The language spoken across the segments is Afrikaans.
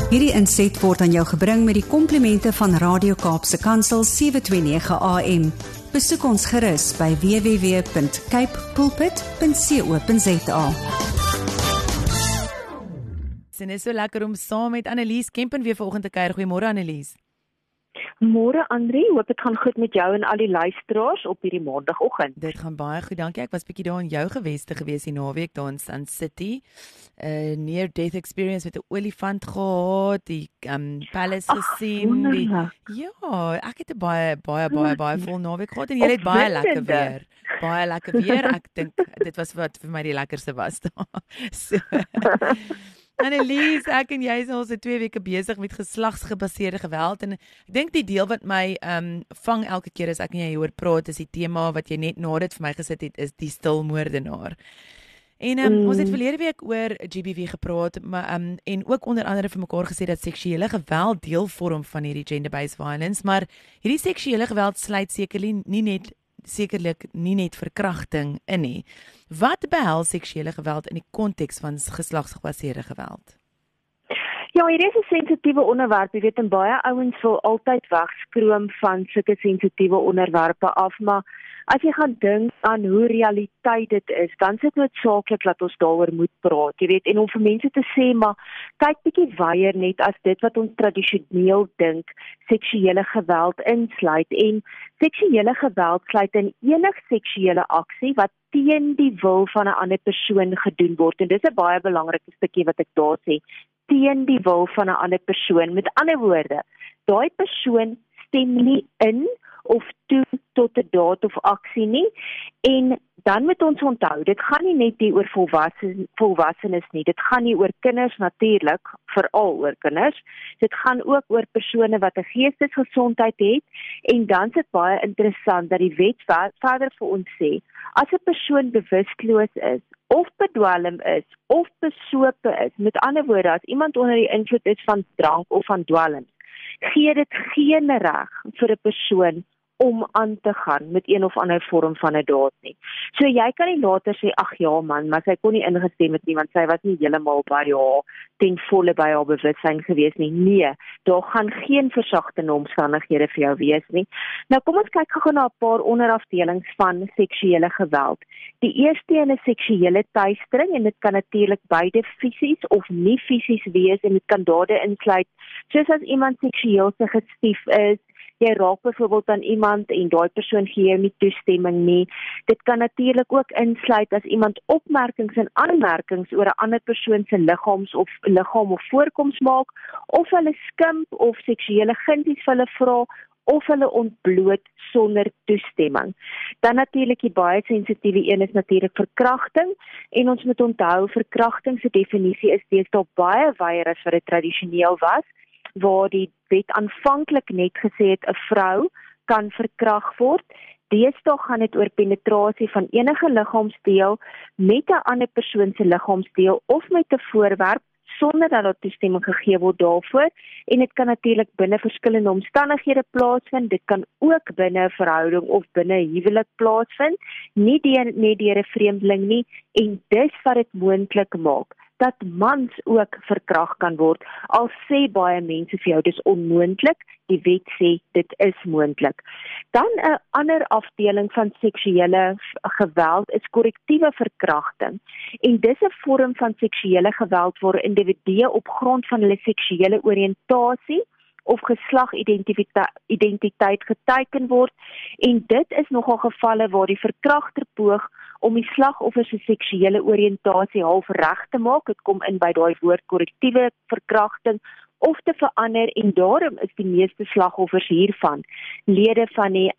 Hierdie inset word aan jou gebring met die komplimente van Radio Kaapse Kansel 729 AM. Besoek ons gerus by www.capepulpit.co.za. En is so lekker om saam met Annelies Kempen weer vanoggend te kuier. Goeiemôre Annelies. Môre Andri, hoop dit gaan goed met jou en al die luisteraars op hierdie maandagooggend. Dit gaan baie goed, dankie. Ek was bietjie daar in jou geweste gewees die naweek daar in Sun City. Near death experience met 'n olifant gehad, die palace gesien. Ja, ek het 'n baie vol naweek gehad en jy het baie lekker weer. Baie lekker weer. Ek dink dit was wat vir my die lekkerste was daar. So. Annelies, ek en jy is al so 2 weke besig met geslagsgebaseerde geweld en ek dink die deel wat my vang elke keer as ek en jy hoor praat is die tema wat jy net na dit vir my gesit het, is die stilmoordenaar. En ons het verlede week oor GBV gepraat, maar en ook onder andere vir mekaar gesê dat seksuele geweld deel vorm van hierdie gender-based violence, maar hierdie seksuele geweld sluit sekerlik nie net verkrachting in nie. Wat behels seksuele geweld in die konteks van geslagsgebaseerde geweld? Ja, hier is 'n sensitiewe onderwerp. Jy weet, en baie ouens wil altyd wegskroom van sulke sensitiewe onderwerpe af, maar as jy gaan dink aan hoe realiteit dit is, dan is dit noodsaaklik dat ons daaroor moet praat. Jy weet, en om vir mense te sê, maar kyk bietjie wyeer net as dit wat ons tradisioneel dink seksuele geweld insluit. En seksuele geweld sluit in enige seksuele aksie wat teen die wil van 'n ander persoon gedoen word. En dis 'n baie belangrike stukkie wat ek daar sê, teen die wil van 'n ander persoon. Met ander woorde, daai persoon stem nie in of toe tot 'n daad of aksie nie. En dan moet ons onthou, dit gaan nie net hier oor volwassenes nie, dit gaan nie oor kinders natuurlik, veral oor kinders. Dit gaan ook oor persone wat 'n geestesgesondheid het, en dan is dit baie interessant dat die wet verder vir ons sê, as 'n persoon bewusteloos is, of bedwelm is, of besope is, met ander woorde, as iemand onder die invloed is van drank of van dwelms, gee dit geen reg vir 'n persoon om aan te gaan met een of ander vorm van 'n daad nie. So jy kan nie later sê, ag ja man, maar sy kon nie ingestem het nie, want sy was nie heeltemal by haar ten volle by haar bewussyn gewees nie. Nee, daar gaan geen versagtende omstandighede vir jou wees nie. Nou kom ons kyk gou na 'n paar onderafdelings van seksuele geweld. Die eerste een is seksuele teistering, en dit kan natuurlik beide fisies of nie fisies wees, en dit kan dade insluit, soos as iemand seksueel suggestief is. Jy raak byvoorbeeld aan iemand en daai persoon gee jou nie toestemming nie. Dit kan natuurlik ook insluit as iemand opmerkings en aanmerkings oor 'n ander persoon se liggaam of voorkoms maak, of hulle skimp of seksuele gunsies vir hulle vra, of hulle ontbloot sonder toestemming. Dan natuurlik die baie sensitiewe een is natuurlik verkrachting, en ons moet onthou, verkrachting se definisie is deesdae baie wyeer as wat dit tradisioneel was, waar die wet aanvanklik net gesê het 'n vrou kan verkragt word. Deesdae gaan dit oor penetrasie van enige liggaamsdeel met 'n ander persoon se liggaamsdeel of met 'n voorwerp sonder dat daar toestemming gegee word daarvoor, en dit kan natuurlik binne verskillende omstandighede plaasvind. Dit kan ook binne 'n verhouding of binne 'n huwelik plaasvind, nie deur 'n vreemdeling nie, en dis wat dit moontlik maak dat mans ook verkragt kan word. Al sê baie mense vir jou dis onmoontlik, die wet sê dit is moontlik. Dan 'n ander afdeling van seksuele geweld is korrektiewe verkrachting. En dis 'n vorm van seksuele geweld waar individue op grond van hulle seksuele oriëntasie of geslagidentiteit geteiken word, en dit is nogal gevalle waar die verkragter poog om die slagoffer se seksuele oriëntasie half reg te maak. Dit kom in by daai woord korrektiewe verkrachting, of te verander, en daarom is die meeste slagoffers hiervan lede van die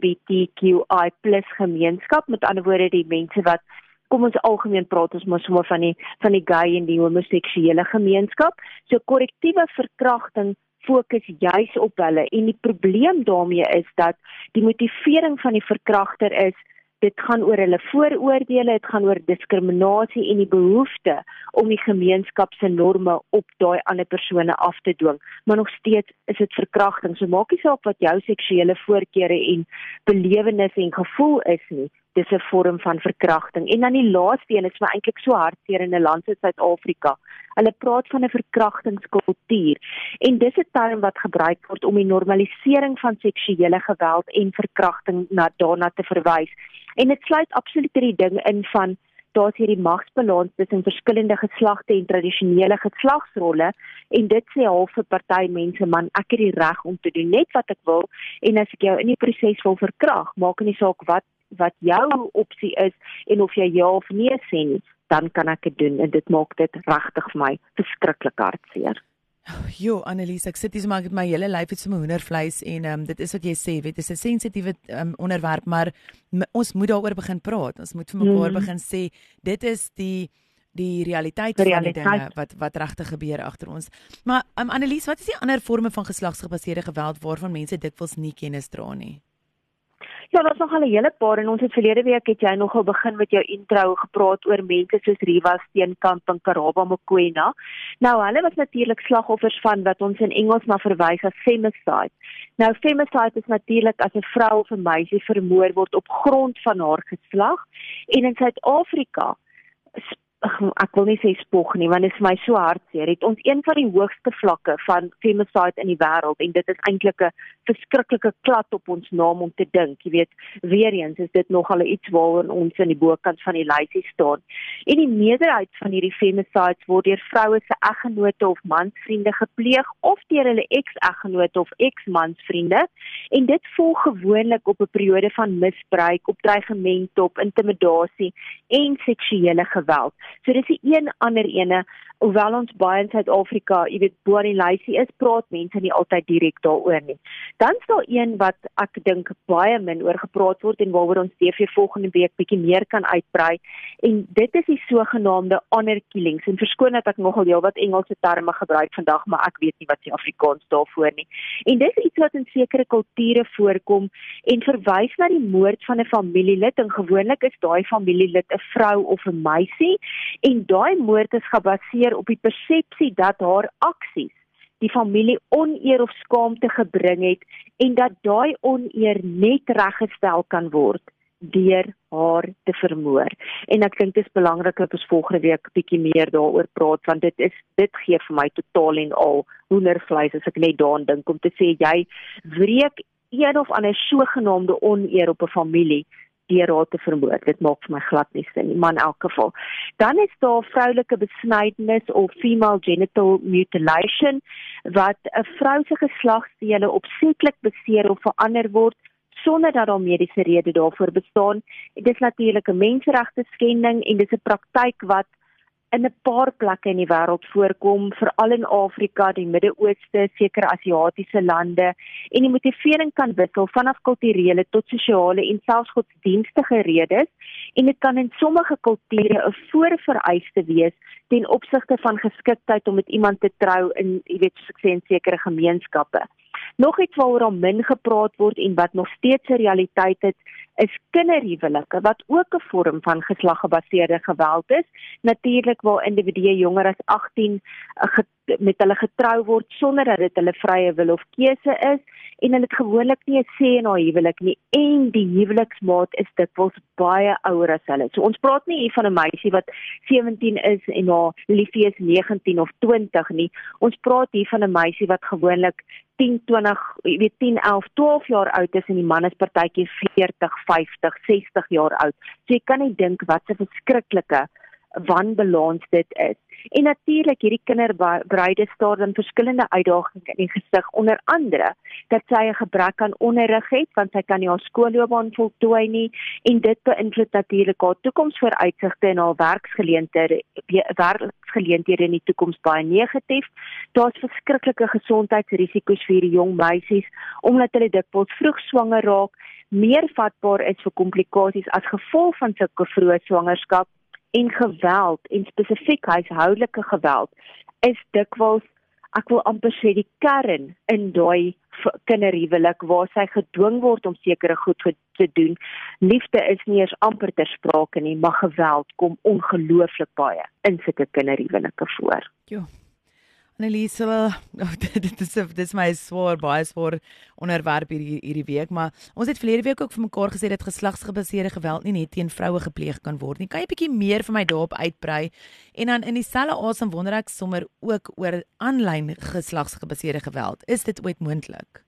LGBTQI+ gemeenskap, met ander woorde die mense wat, kom ons algemeen praat ons maar sommer van die gay en die homoseksuele gemeenskap. So korrektiewe verkrachting fokus juis op hulle, en die probleem daarmee is dat die motivering van die verkragter is, dit gaan oor hulle vooroordele, dit gaan oor diskriminasie en die behoefte om die gemeenskap se norme op daai ander persone af te dwing. Maar nog steeds is dit verkrachting. So maak nie saak wat jou seksuele voorkeure en belewenis en gevoel is nie. dis 'n vorm van verkrachting. En dan die laaste een is my eintlik so hartseer in 'n land soos Suid-Afrika. Hulle praat van 'n verkrachtingskultuur. En dis 'n term wat gebruik word om die normalisering van seksuele geweld en verkrachting daarna te verwys. En dit sluit absoluut die ding in van daar's hierdie magsbalans tussen verskillende geslagte en tradisionele geslagsrolle en dit sê half vir party mense man ek het die reg om te doen net wat ek wil en as ek jou in die proses wil verkrag, maak nie saak wat jou opsie is en of jy ja of nee sê nie, dan kan ek dit doen en dit maak dit regtig vir my verskriklik hartseer. Jo, Annelies, ek sit hier maar met my hele lyf het so 'n hoendervleis en dit is wat jy sê, weet, dis 'n sensitiewe onderwerp, maar ons moet daaroor begin praat. Ons moet vir mekaar begin sê, dit is die realiteit van die dinge wat regtig gebeur agter ons. Maar Annelies, wat is die ander forme van geslagsgebaseerde geweld waarvan mense dikwels nie kennis dra nie? Ja, daar's nog al 'n hele paar en ons het verlede week het jy nogal begin met jou intro gepraat oor mense soos Riva Steenkamp en Karabo Mokoena. Nou, hulle was natuurlik slagoffers van wat ons in Engels na verwys as femicide. Nou, femicide is natuurlik as 'n vrou of 'n meisie vermoor word op grond van haar geslag en in Suid-Afrika ek wil nie sê spog nie, want dit is vir my so hartseer. Het ons een van die hoogste vlakke van femicide in die wêreld en dit is eintlik 'n verskriklike klad op ons naam om te dink. Jy weet, weer eens is dit nogal iets waaroor ons in die bokant van die lysie staan. En die meerderheid van hierdie femicides word deur vroue se eggenote of mansvriende gepleeg of deur hulle ex-eggenote of ex-mansvriende en dit volg gewoonlik op 'n periode van misbruik, op dreigement, op intimidasie en seksuele geweld. So dis die een ander ene, hoewel ons baie in Suid-Afrika, jy weet, bo aan die lysie is, praat mense nie altyd direk daaroor nie. Dan is daar een wat ek dink baie min oor gepraat word en waaroor ons TV volgende week bietjie meer kan uitbrei en dit is die sogenaamde honor killings en verskoon dat ek nogal heelwat Engelse terme gebruik vandag, maar ek weet nie wat die Afrikaans daarvoor nie. En dis iets wat in sekere kulture voorkom en verwys na die moord van 'n familielid en gewoonlik is daai familielid 'n vrou of 'n meisie en daai moord is gebaseer op die persepsie dat haar aksies die familie oneer of skaamte gebring het en dat daai oneer net reggestel kan word deur haar te vermoor. En ek dink dit is belangrik dat ons volgende week bietjie meer daaroor praat want dit gee vir my totaal en al hoendervleis as ek net daaraan dink om te sê jy wreek een of ander sogenaamde oneer op 'n familie deur haar te vermoor. Dit maak vir my glad nie sin nie, maar in elk geval. Dan is daar vroulike besnydenis of female genital mutilation wat 'n vrou se geslagsdele opsetlik beseer of verander word sonder dat daar mediese rede daarvoor bestaan. Dit is natuurlik 'n menseregte skending en dit is 'n praktyk wat in 'n paar plekke in die wêreld voorkom, veral in Afrika, die Midde-Ooste, sekere Asiatiese lande, en die motivering kan wissel vanaf kulturele tot sosiale en selfs godsdienstige redes, en dit kan in sommige kulture 'n voorvereiste wees ten opsigte van geskiktheid om met iemand te trou in, jy weet, soos ek sê, in sekere gemeenskappe. Nog iets waaroor al min gepraat word en wat nog steeds 'n realiteit is kinderhuwelike, wat ook 'n vorm van geslaggebaseerde geweld is. Natuurlik waar individue jonger as 18 met hulle getrou word sonder dat dit hulle vrye wil of keuse is en hulle het gewoonlik nie 'n sê in haar huwelik nie en die huweliksmaat is dikwels baie ouer as hulle. So ons praat nie hier van 'n meisie wat 17 is en haar liefie is 19 of 20 nie. Ons praat hier van 'n meisie wat gewoonlik 10, 20, jy weet 10, 11, 12 jaar oud is en die man is partytjie 40, 50, 60 jaar oud. So jy kan nie dink wat 'n verskriklike wanbalans dit is. En natuurlik hierdie kinderbruide staar dan verskillende uitdagings in die gesig, onder andere dat sy 'n gebrek aan onderrig het, want sy kan nie haar skoolloopbaan voltooi nie, en dit beïnvloed natuurlik haar toekomsvooruitsigte en haar werksgeleenthede in die toekoms baie negatief. Daar's verskriklike gesondheidsrisiko's vir hierdie jong meisies, omdat hulle dikwels vroeg swanger raak, meer vatbaar is vir komplikasies as gevolg van sulke vroeë swangerskap, en geweld, en spesifiek huishoudelike geweld, is dikwels, ek wil amper sê, die kern in daai kinderhuwelik, waar sy gedwing word om sekere goed te doen. Liefde is nie eers amper ter sprake nie, maar geweld kom ongelooflik baie in sulke kinderhuwelike voor. Jo. Annelies, dit is my baie swaar onderwerp hierdie week, maar ons het verlede week ook vir mekaar gesê dat geslagsgebaseerde geweld nie net teen vroue gepleeg kan word nie. Kan jy 'n bietjie meer vir my daarop uitbrei? En dan in dieselfde asem wonder ek sommer ook oor aanlyn geslagsgebaseerde geweld. Is dit ooit moontlik?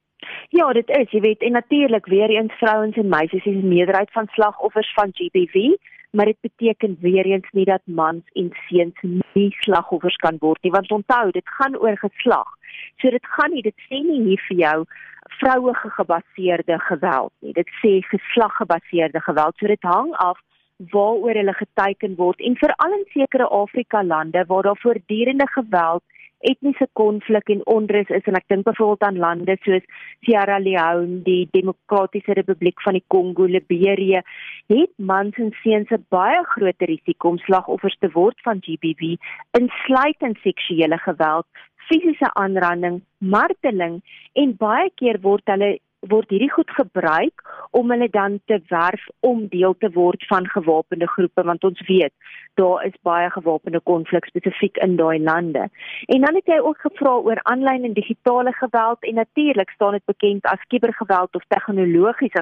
Ja, dit is, jy weet, en natuurlik weer eens vrouens en meisies is 'n meerderheid van slagoffers van GBV, maar dit beteken weer eens nie dat mans en seuns nie slagoffers kan word nie, want onthou, dit gaan oor geslag. So dit sê nie hier vir jou vroue gebaseerde geweld nie, dit sê geslaggebaseerde geweld, so dit hang af waaroor hulle geteiken word, en veral in sekere Afrika lande waar daar voortdurende geweld, etniese konflik en onrus is, en ek dink byvoorbeeld aan lande soos Sierra Leone, die Demokratiese Republiek van die Kongo, Liberië, het mans en seuns 'n baie groter risiko om slagoffers te word van GBV, insluitend seksuele geweld, fisiese aanranding, marteling, en baie keer word hierdie goed gebruik om hulle dan te werf om deel te word van gewapende groepe, want ons weet, daar is baie gewapende konflik spesifiek in daai lande. En dan het jy ook gevra oor aanlyn en digitale geweld, en natuurlik staan dit bekend as kubergeweld of tegnologiese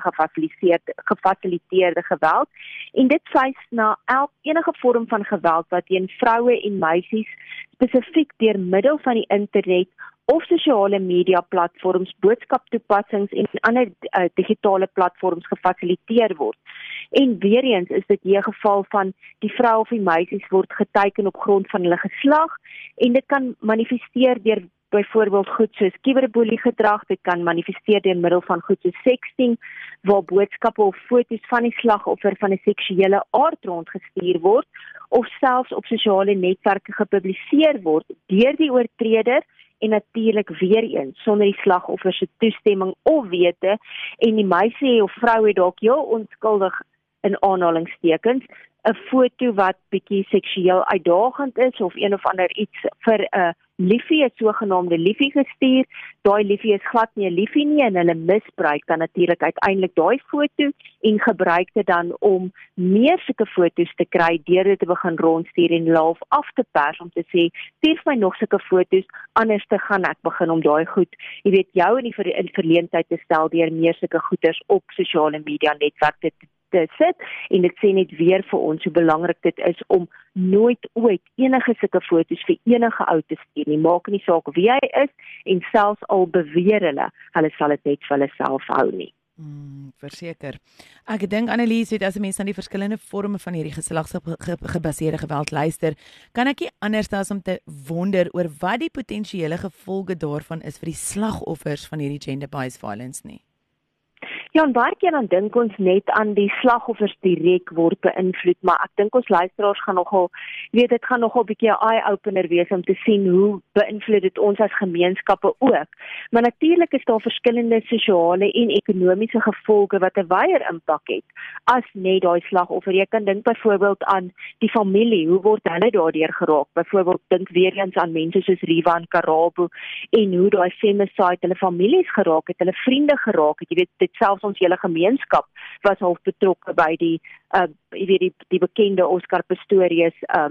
gefasiliteerde geweld, en dit wys na enige vorm van geweld wat teen vroue en meisies spesifiek deur middel van die internet of sosiale media platforms, boodskaptoepassings en ander digitale platforms gefasiliteer word. En weer eens is dit hier geval van die vrou of die meisies word geteiken op grond van hulle geslag, en dit kan manifesteer deur byvoorbeeld goed soos cyberboelie gedrag, dit kan manifesteer deur middel van goed soos sexting, waar boodskappe of foto's van die slagoffer van 'n seksuele aard rondgestuur word, of selfs op sosiale netwerke gepubliseer word deur die oortreder, en natuurlik weer eens sonder die slagoffer se toestemming of wete, en die meisie of vrou het dalk heel onskuldig in aanhalingstekens 'n foto wat bietjie seksueel uitdagend is, of een of ander iets vir 'n liefie, 'n sogenaamde liefie gestuur. Daai liefie is glad nie 'n liefie nie, en hulle misbruik dan natuurlik uiteindelik daai foto en gebruik dit dan om meer sulke foto's te kry deur dit te begin rondstuur en half af te pers om te sê, stuur my nog sulke foto's, anders te gaan ek begin om daai goed, jy weet, jou in die verleentheid te stel deur meer sulke goeders op sosiale media netwerke te sit, en dit sê net weer vir ons hoe belangrik dit is om nooit ooit enige sulke foto's vir enige ou te stuur nie, maak nie saak wie hy is, en selfs al beweer hulle sal dit net vir hulle self hou nie. Verseker. Ek dink Annelies, as 'n mens aan die verskillende forme van hierdie geslagsgebaseerde geweld luister, kan ek nie anders as om te wonder oor wat die potensiële gevolge daarvan is vir die slagoffers van hierdie gender-based violence nie. Ja, en baie keer dan dink ons net aan die slagoffers direk word beïnvloed, maar ek dink ons luisteraars gaan nogal, weet dit gaan nogal 'n bietjie 'n eye-opener wees om te sien hoe beïnvloed dit ons as gemeenskappe ook. Maar natuurlik is daar verskillende sosiale en ekonomiese gevolge wat 'n wyeer impak het as net daai slagoffer. Jy kan dink byvoorbeeld aan die familie, hoe word hulle daardeur geraak? Byvoorbeeld dink weer eens aan mense soos Riva en Karabo, en hoe daai femicide hulle families geraak het, hulle vriende geraak het. Jy weet, dit selfs ons hele gemeenskap was half betrokke by die bekende Oscar Pistorius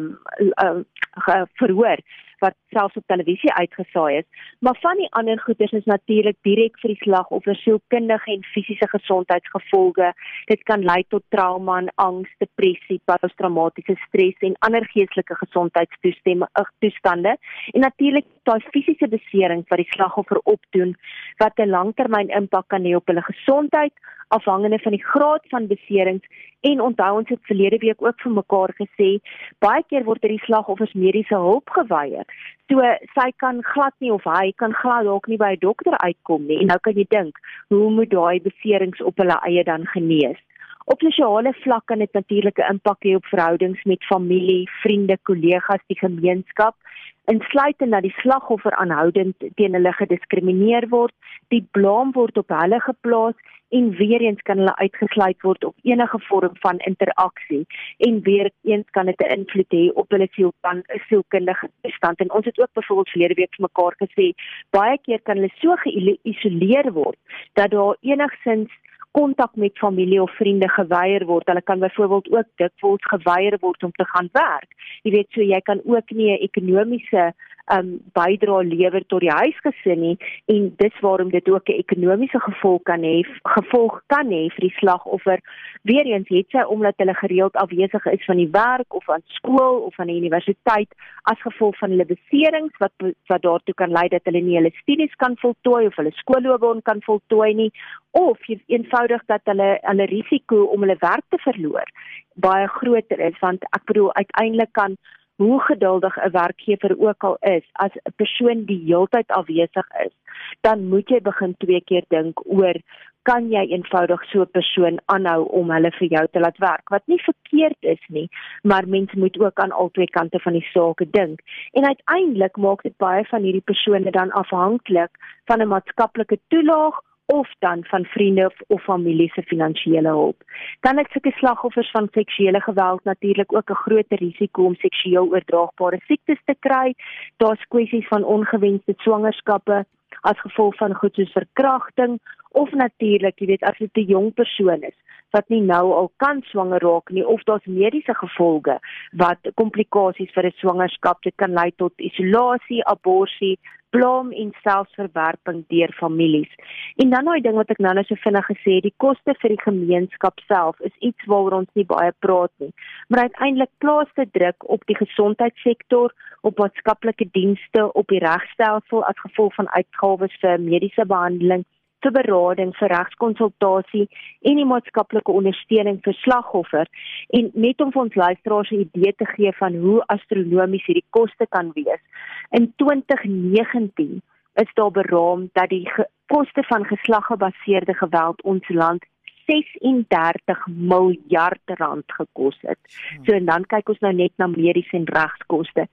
verhoor wat selfs op televisie uitgesaai is. Maar van die ander goeders is natuurlik direk vir die slagoffer sielkundige en fisiese gesondheidsgevolge. Dit kan lei tot trauma en angs, depressie, posttraumatiese stres en ander geestelike gesondheidstoestande. En natuurlik daai fisiese beserings wat die slagoffer opdoen, wat 'n langtermyn impak kan hê op hulle gesondheid, afhangende van die graad van beserings. En onthou, ons het verlede week ook vir mekaar gesê, baie keer word die slagoffers mediese hulp geweier. So sy kan glad nie, of hy kan glad dalk nie by 'n dokter uitkom nie. En nou kan jy dink, hoe moet daai beserings op hulle eie dan genees? Op sosiale vlak kan dit natuurlik 'n impak hê op verhoudings met familie, vriende, kollegas, die gemeenskap, insluitend dat die slagoffer aanhoudend teen hulle gediskrimineer word, die blame word op hulle geplaas, en weer eens kan hulle uitgesluit word op enige vorm van interaksie, en weer eens kan dit 'n invloed hê op hulle sielkundige toestand. En ons het ook byvoorbeeld verlede week vir mekaar gesê, baie keer kan hulle so geïsoleer word, dat daar enigsins kontak met familie of vriende geweier word. Hulle kan byvoorbeeld ook dikwels geweier word om te gaan werk. Jy weet, so jy kan ook nie 'n ekonomiese bydra lewer tot die huisgesin nie, en dis waarom dit ook 'n ekonomiese gevolg kan hê vir die slagoffer. Weereens het sy omdat hulle gereeld afwesig is van die werk of aan skool of aan die universiteit as gevolg van hulle beserings wat daartoe kan lei dat hulle nie hulle studies kan voltooi of hulle skoolloopbaan kan voltooi nie, of eenvoudig dat hulle risiko om hulle werk te verloor baie groter is, want ek bedoel uiteindelik kan hoe geduldig 'n werkgewer ook al is, as 'n persoon die heeltyd afwesig is, dan moet jy begin 2 keer dink oor, kan jy eenvoudig so 'n persoon aanhou om hulle vir jou te laat werk, wat nie verkeerd is nie, maar mens moet ook aan albei kante van die saak dink. En uiteindelik maak dit baie van hierdie persone dan afhanklik van 'n maatskaplike toelaag, of dan van vriende of familie se finansiële hulp. Dan het sulke slagoffers van seksuele geweld natuurlik ook 'n groter risiko om seksueel oordraagbare siektes te kry. Daar's kwessies van ongewenste swangerskappe as gevolg van goed soos verkrachting, of natuurlik, jy weet, as dit 'n jong persoon is wat nie nou al kan swanger raak nie, of daar's mediese gevolge wat komplikasies vir 'n swangerskap, dit kan lei tot isolasie, abortus, blom en selfs verwerping deur families. En dan nou die ding wat ek nou so vinnig gesê, die koste vir die gemeenskap self is iets waaroor ons nie baie praat nie. Maar uiteindelik plaas dit druk op die gesondheidssektor, op maatskaplike dienste, op die regstelsel as gevolg van uitgawes vir mediese behandeling, vir berading, vir regskonsultasie en die maatskaplike ondersteuning vir slagoffer, en net om vir ons luisteraars 'n idee te gee van hoe astronomies hierdie koste kan wees. In 2019 is daar beraam dat die koste van geslaggebaseerde geweld ons land 36 miljard rand gekos het. So en dan kyk ons nou net na mediese en regskoste.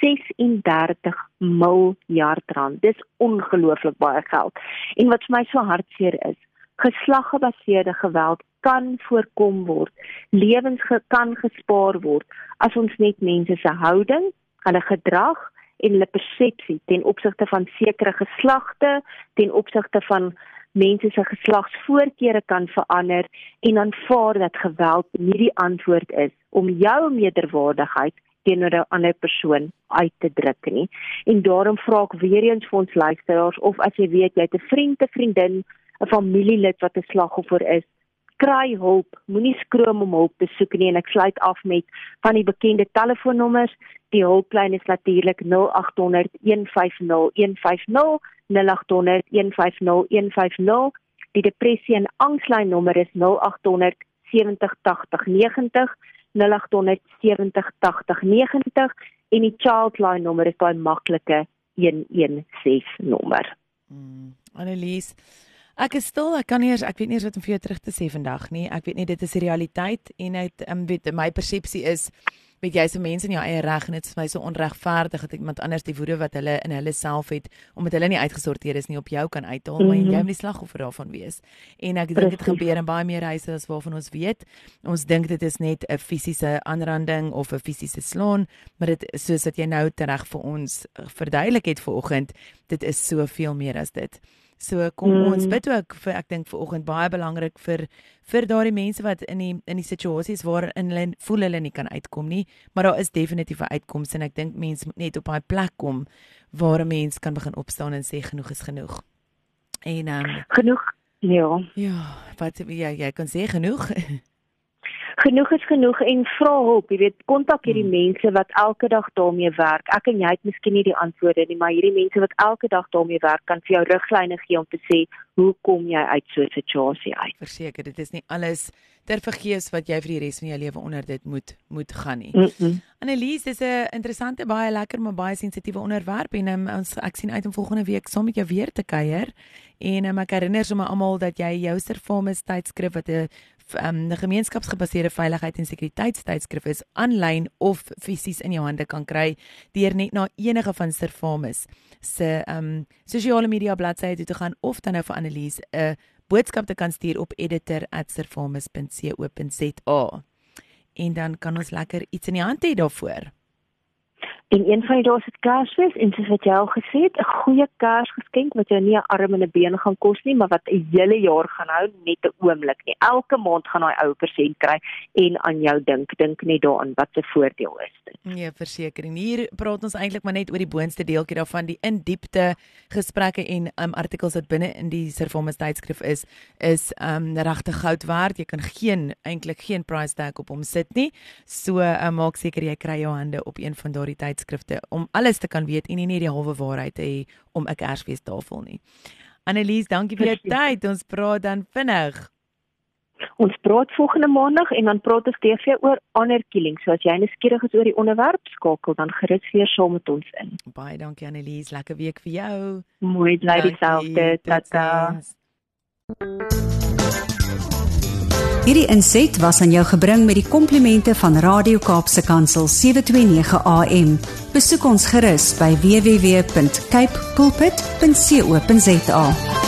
36 miljard rand. Dis ongelooflik baie geld. En wat vir my so hartseer is, geslaggebaseerde geweld kan voorkom word, lewens kan gespaar word, as ons net mense se houding, hulle gedrag en hulle persepsie ten opsigte van sekere geslagte, ten opsigte van mense se geslagsvoorkeure kan verander en aanvaar dat geweld nie die antwoord is om jou meerderwaardigheid teenoor 'n ander persoon uit te druk nie. En daarom vra ek weer eens vir ons luisteraars, of as jy weet, jy het 'n vriend, 'n vriendin, 'n familielid wat 'n slagoffer is, kry hulp, moenie skroom om hulp te soek nie, en ek sluit af met van die bekende telefoonnommers. Die hulplyn is natuurlik 0800 150 150, 0800 150 150. Die depressie en angslyn nommer is 0800 70 80 90, 0800 70 80 90, en die childline nommer is daai maklike 116 nommer. Annelies, ek is stil, ek weet nie eens wat om vir jou terug te sê vandag nie. Ek weet nie, dit is die realiteit, en weet, my persepsie is, weet jy, so mense in jou eie reg, en dit is my so onregverdig dat iemand anders die woede wat hulle in hulle self het, omdat hulle nie uitgesorteer is nie, op jou kan uithaal, maar jy moet die slagoffer daarvan wees. En ek dink dit gebeur in baie meer huise as waarvan ons weet. Ons dink dit is net 'n fisiese aanranding of 'n fisiese slaan, maar dit, soos wat jy nou tereg vir ons verduidelik het vanoggend, dit is soveel meer as dit. So kom ons bid ook vir, ek dink vanoggend baie belangrik vir daardie mense wat in die situasies waarin hulle voel hulle nie kan uitkom nie, maar daar is definitief 'n uitkoms, en ek dink mense moet net op daai plek kom waar 'n mens kan begin opstaan en sê genoeg is genoeg. En genoeg, ja. Ja, wat jy kan sê genoeg. Genoeg is genoeg, en vra hulp, jy weet, kontak hierdie mense wat elke dag daarmee werk. Ek en jy het miskien nie die antwoorde nie, maar hierdie mense wat elke dag daarmee werk, kan vir jou riglyne gee om te sê, hoe kom jy uit so 'n situasie uit? Verseker, dit is nie alles ter vergeefs wat jy vir die res van jou lewe onder dit moet gaan nie. Annelies, dis 'n interessante, baie lekker, maar baie sensitiewe onderwerp, en ek sien uit om volgende week saam met jou weer te kuier. En ek herinner sommer almal dat jy jou Servamus tydskrif, wat 'n gemeenskapsgebaseerde veiligheid en sekuriteitstydskrif is, aanlyn of fisies in jou hande kan kry deur net na enige van Servamus se sosiale media bladsye toe te gaan, of dan nou vir Annelies 'n boodskap te kan stuur op editor@servamus.co.za. En dan kan ons lekker iets in die hand hê daarvoor. En een van die dae is dit Kersfees en soos wat jy al gesê het, 'n goeie Kersgeskenk wat jou nie 'n arm en 'n been gaan kos nie, maar wat 'n hele jaar gaan hou, net 'n oomblik nie. Elke maand gaan daai ou persent kry en aan jou dink. Dink net daaraan wat se voordeel is dit. Nee, versekering. Hier praat ons eintlik maar net oor die boonste deeltjie daarvan, die in-diepte gesprekke en artikels wat binne in die Servamus tydskrif is regtig goud werd. Jy kan eintlik geen price tag op hom sit nie. So maak seker jy kry jou hande op een van daardie tydskrifte om alles te kan weet en nie die halwe waarheid te hê om 'n Kersfeestafel nie. Annelies, dankie vir jou tyd. Ons praat dan vinnig. Ons praat volgende maandag en dan praat ons TV oor honor killing. So as jy nuuskierig is oor die onderwerp, skakel dan gerus weer saam met ons in. Baie dankie Annelies, lekker week vir jou. Mooi bly dieselfde. Tata. Hierdie inset was aan jou gebring met die komplimente van Radio Kaapse Kansel 729 AM. Besoek ons gerus by www.cape pulpit.co.za.